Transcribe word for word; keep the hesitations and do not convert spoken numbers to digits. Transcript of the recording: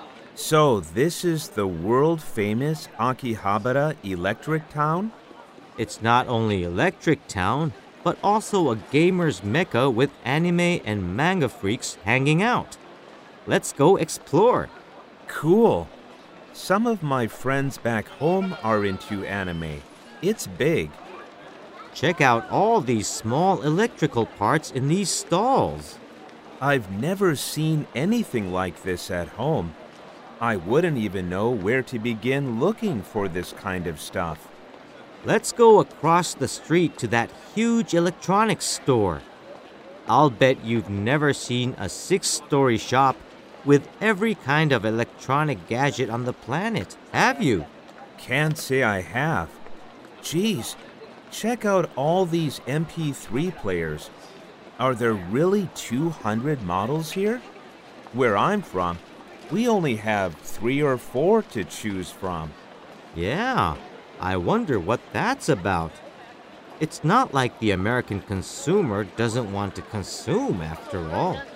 So, this is the world famous Akihabara Electric Town? It's not only Electric Town, but also a gamer's mecca with anime and manga freaks hanging out. Let's go explore. Cool. Some of my friends back home are into anime. It's big. Check out all these small electrical parts in these stalls. I've never seen anything like this at home. I wouldn't even know where to begin looking for this kind of stuff. Let's go across the street to that huge electronics store. I'll bet you've never seen a six-story shop with every kind of electronic gadget on the planet, have you? Can't say I have. Geez, check out all these M P three players. Are there really two hundred models here? Where I'm from, we only have three or four to choose from. Yeah, I wonder what that's about. It's not like the American consumer doesn't want to consume after all.